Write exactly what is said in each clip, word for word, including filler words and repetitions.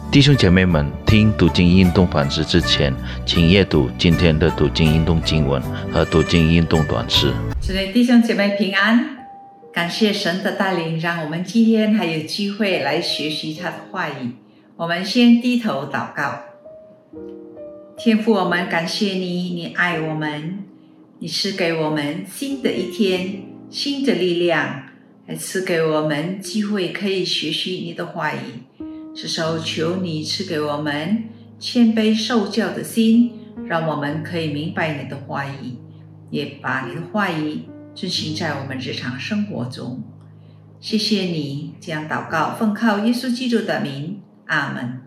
弟兄姐妹们，听读经运动反思之前，请阅读今天的读经运动经文和读经运动短诗。 主内弟兄姐妹平安，感谢神的带领，让我们今天还有机会来学习他的话语。我们先低头祷告。天父，我们感谢你，你爱我们，你赐给我们新的一天，新的力量，还赐给我们机会可以学习你的话语。这时候求你赐给我们谦卑受教的心，让我们可以明白你的话语，也把你的话语遵行在我们日常生活中。谢谢你，这样祷告奉靠耶稣基督的名，阿们。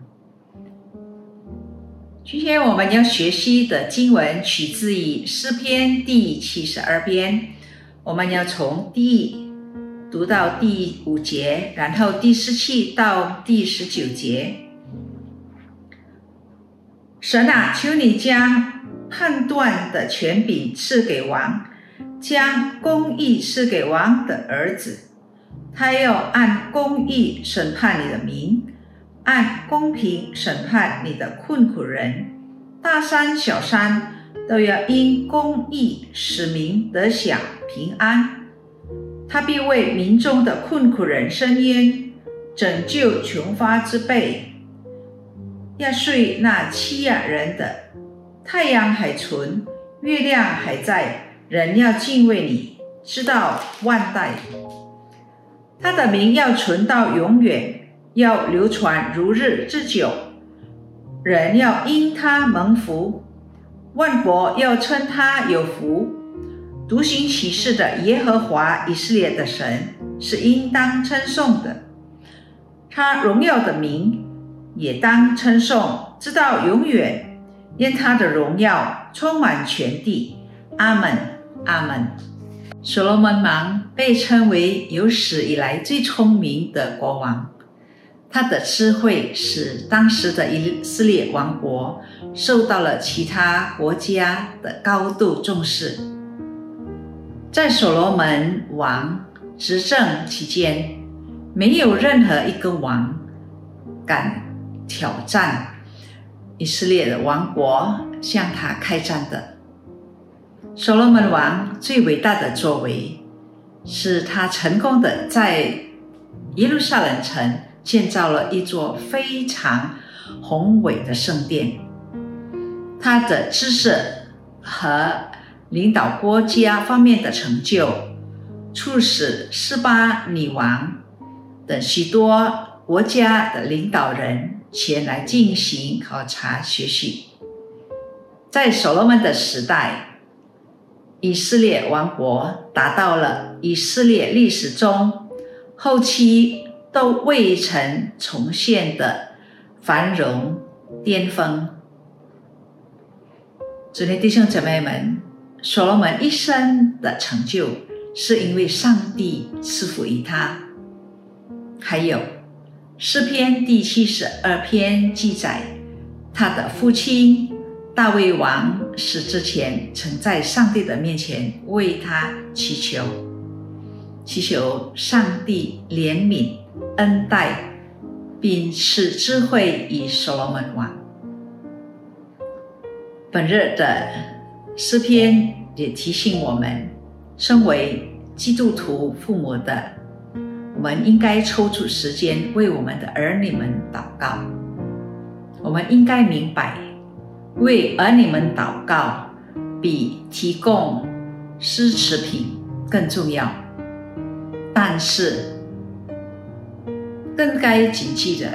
今天我们要学习的经文取自于诗篇第七十二篇，我们要从第一读到第五节，然后第十七到第十九节。神啊，求你将判断的权柄赐给王，将公义赐给王的儿子。他要按公义审判你的民，按公平审判你的困苦人。大山小山都要因公义使民得享平安。他必为民中的困苦人伸冤，拯救穷乏之辈，压碎那欺压人的。太阳还存，月亮还在，人要敬畏你，直到万代。他的名要存到永远，要流传如日之久。人要因他蒙福，万国要称他有福。独行其事的耶和华以色列的神是应当称颂的，他荣耀的名也当称颂，直到永远，因他的荣耀充满全地。阿们，阿们。所罗门王被称为有史以来最聪明的国王，他的智慧使当时的以色列王国受到了其他国家的高度重视。在所罗门王执政期间，没有任何一个王敢挑战以色列的王国向他开战的。所罗门王最伟大的作为是他成功的在耶路撒冷城建造了一座非常宏伟的圣殿。他的知识和领导国家方面的成就，促使示巴女王等许多国家的领导人前来进行考察学习。在所罗门的时代，以色列王国达到了以色列历史中后期都未曾重现的繁荣巅峰。主内弟兄姐妹们，所罗门一生的成就是因为上帝赐福于他。还有诗篇第七十二篇记载，他的父亲大卫王死之前曾在上帝的面前为他祈求，祈求上帝怜悯恩待，并赐智慧于所罗门王。本日的诗篇也提醒我们，身为基督徒父母的我们应该抽出时间为我们的儿女们祷告。我们应该明白，为儿女们祷告比提供奢侈品更重要，但是更该谨记的，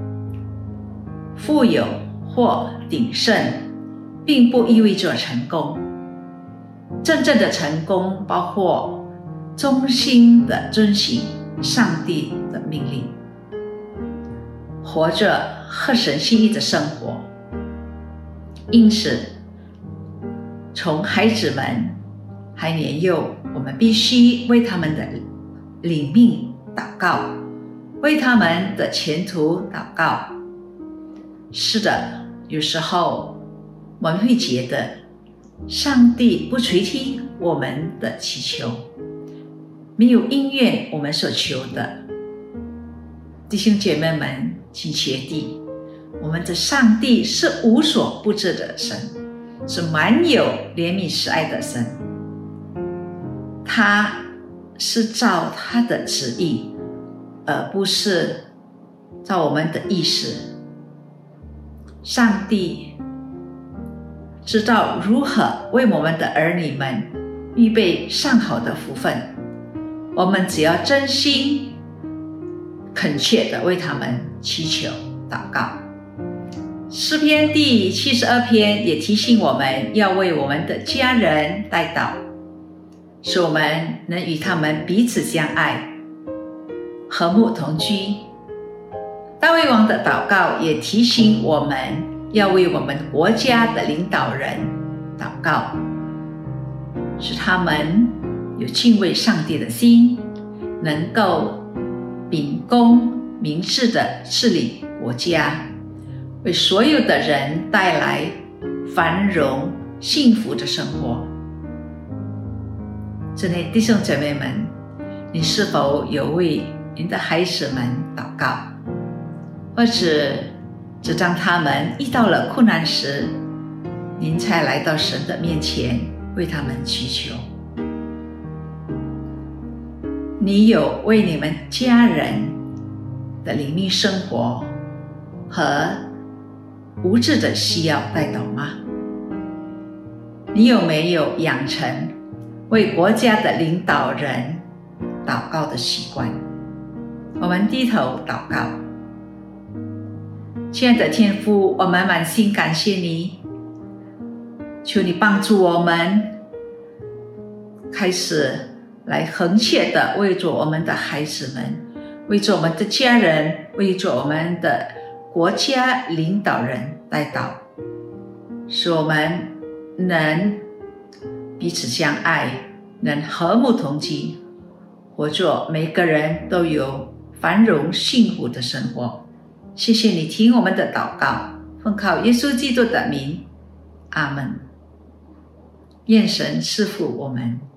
富有或鼎盛并不意味着成功。真正的成功包括忠心地遵行上帝的命令，活着合神心意的生活。因此，从孩子们还年幼，我们必须为他们的领命祷告，为他们的前途祷告。是的，有时候我们会觉得上帝不垂听我们的祈求，没有应允我们所求的。弟兄姐妹们，请切记， 我们的上帝是无所不知的神，是满有怜悯慈爱的神。他是照他的旨意，而不是照我们的意思。上帝知道如何为我们的儿女们预备上好的福分，我们只要真心恳切地为他们祈求祷告。诗篇第七十二篇也提醒我们要为我们的家人代祷，使我们能与他们彼此相爱，和睦同居。大卫王的祷告也提醒我们要为我们国家的领导人祷告，使他们有敬畏上帝的心，能够秉公明智地治理国家，为所有的人带来繁荣幸福的生活。亲爱的弟兄姐妹们，你是否有为您的孩子们祷告，或者只当他们遇到了困难时，您才来到神的面前为他们祈求？你有为你们家人的灵命生活和物质的需要代祷吗？你有没有养成为国家的领导人祷告的习惯？我们低头祷告。亲爱的天父，我们满心感谢你，求你帮助我们开始来恒切的为着我们的孩子们，为着我们的家人，为着我们的国家领导人代祷，使我们能彼此相爱，能和睦同居，活着每个人都有繁荣幸福的生活。谢谢你听我们的祷告，奉靠耶稣基督的名，阿们。愿神赐福我们。